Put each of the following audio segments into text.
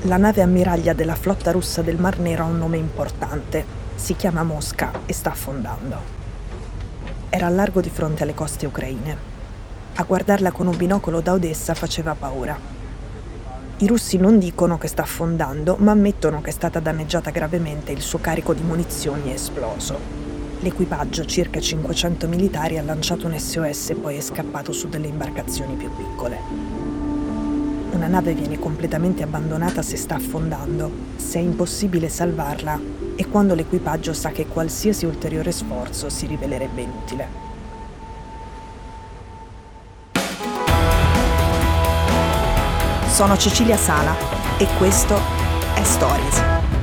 La nave ammiraglia della flotta russa del Mar Nero ha un nome importante. Si chiama Mosca e sta affondando. Era al largo di fronte alle coste ucraine. A guardarla con un binocolo da Odessa faceva paura. I russi non dicono che sta affondando, ma ammettono che è stata danneggiata gravemente e il suo carico di munizioni è esploso. L'equipaggio, circa 500 militari, ha lanciato un SOS e poi è scappato su delle imbarcazioni più piccole. Una nave viene completamente abbandonata se sta affondando, se è impossibile salvarla e quando l'equipaggio sa che qualsiasi ulteriore sforzo si rivelerebbe inutile. Sono Cecilia Sala e questo è Stories.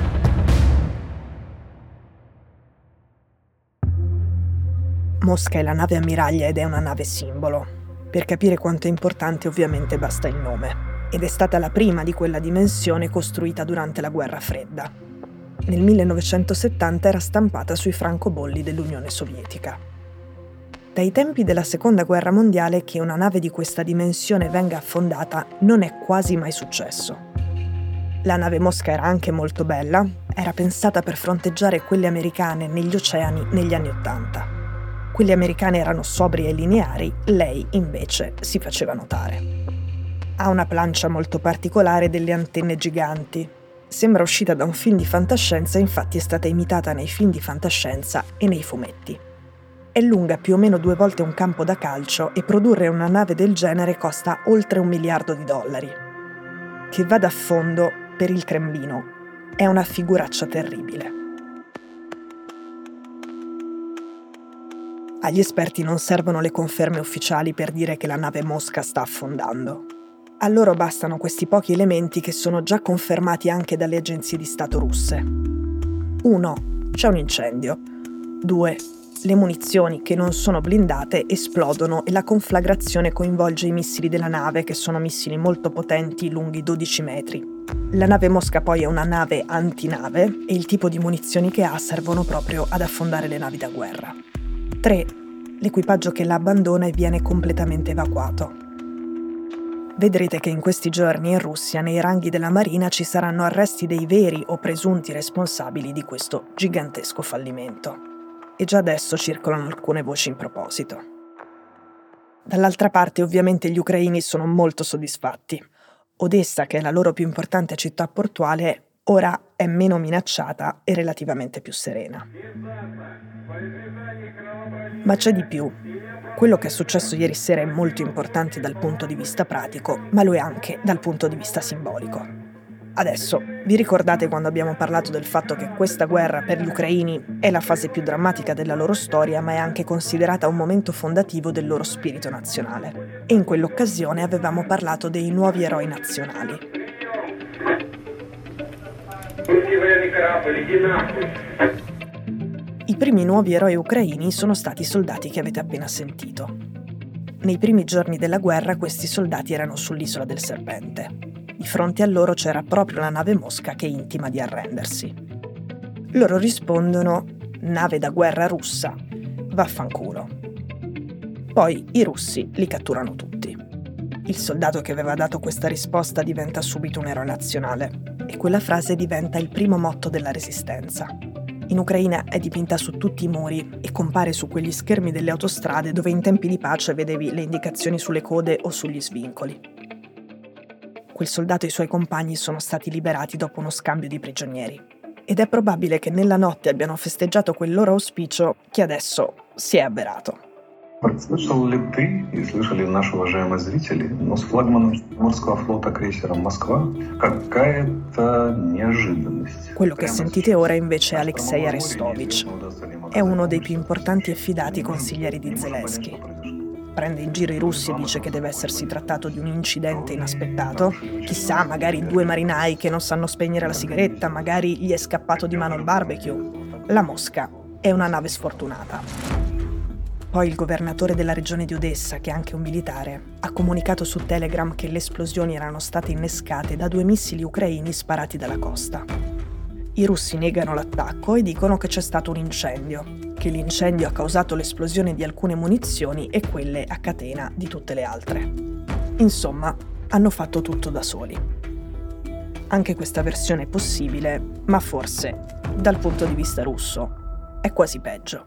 Mosca è la nave ammiraglia ed è una nave simbolo. Per capire quanto è importante ovviamente basta il nome. Ed è stata la prima di quella dimensione costruita durante la Guerra Fredda. Nel 1970 era stampata sui francobolli dell'Unione Sovietica. Dai tempi della Seconda Guerra Mondiale che una nave di questa dimensione venga affondata non è quasi mai successo. La nave Mosca era anche molto bella, era pensata per fronteggiare quelle americane negli oceani negli anni '80. Quelle americane erano sobrie e lineari, lei invece si faceva notare. Ha una plancia molto particolare e delle antenne giganti. Sembra uscita da un film di fantascienza, infatti è stata imitata nei film di fantascienza e nei fumetti. È lunga più o meno 2 volte un campo da calcio e produrre una nave del genere costa oltre $1 miliardo. Che vada a fondo, per il Cremlino, è una figuraccia terribile. Agli esperti non servono le conferme ufficiali per dire che la nave Mosca sta affondando. A loro bastano questi pochi elementi che sono già confermati anche dalle agenzie di Stato russe. 1. C'è un incendio. 2. Le munizioni, che non sono blindate, esplodono e la conflagrazione coinvolge i missili della nave, che sono missili molto potenti, lunghi 12 metri. La nave Mosca poi è una nave antinave e il tipo di munizioni che ha servono proprio ad affondare le navi da guerra. 3. L'equipaggio che la abbandona e viene completamente evacuato. Vedrete che in questi giorni in Russia, nei ranghi della Marina, ci saranno arresti dei veri o presunti responsabili di questo gigantesco fallimento. E già adesso circolano alcune voci in proposito. Dall'altra parte, ovviamente, gli ucraini sono molto soddisfatti. Odessa, che è la loro più importante città portuale, ora è meno minacciata e relativamente più serena. Ma c'è di più. Quello che è successo ieri sera è molto importante dal punto di vista pratico, ma lo è anche dal punto di vista simbolico. Adesso, vi ricordate quando abbiamo parlato del fatto che questa guerra per gli ucraini è la fase più drammatica della loro storia, ma è anche considerata un momento fondativo del loro spirito nazionale? E in quell'occasione avevamo parlato dei nuovi eroi nazionali. I primi nuovi eroi ucraini sono stati i soldati che avete appena sentito. Nei primi giorni della guerra questi soldati erano sull'isola del Serpente. Di fronte a loro c'era proprio la nave Mosca che intima di arrendersi. Loro rispondono: nave da guerra russa, vaffanculo. Poi i russi li catturano tutti. Il soldato che aveva dato questa risposta diventa subito un eroe nazionale e quella frase diventa il primo motto della resistenza. In Ucraina è dipinta su tutti i muri e compare su quegli schermi delle autostrade dove in tempi di pace vedevi le indicazioni sulle code o sugli svincoli. Quel soldato e i suoi compagni sono stati liberati dopo uno scambio di prigionieri. Ed è probabile che nella notte abbiano festeggiato quel loro auspicio che adesso si è avverato. Слышал ли ты и слышали наши уважаемые зрители, но с флагманом морского флота крейсером «Москва» какая-то неожиданность. Quello che sentite ora invece è Alexei Arestovich. È uno dei più importanti e fidati consiglieri di Zelensky. Prende in giro i russi e dice che deve essersi trattato di un incidente inaspettato. Chissà, magari 2 marinai che non sanno spegnere la sigaretta, magari gli è scappato di mano il barbecue. La Mosca è una nave sfortunata. Poi il governatore della regione di Odessa, che è anche un militare, ha comunicato su Telegram che le esplosioni erano state innescate da 2 missili ucraini sparati dalla costa. I russi negano l'attacco e dicono che c'è stato un incendio, che l'incendio ha causato l'esplosione di alcune munizioni e quelle a catena di tutte le altre. Insomma, hanno fatto tutto da soli. Anche questa versione è possibile, ma forse, dal punto di vista russo, è quasi peggio.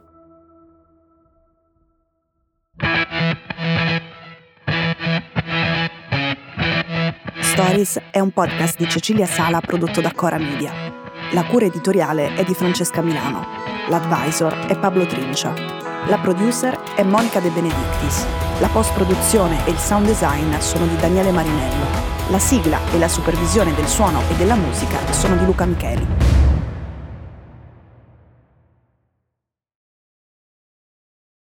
Stories è un podcast di Cecilia Sala prodotto da Cora Media. La cura editoriale è di Francesca Milano. L'advisor è Pablo Trincia. La producer è Monica De Benedictis. La post-produzione e il sound design sono di Daniele Marinello. La sigla e la supervisione del suono e della musica sono di Luca Micheli.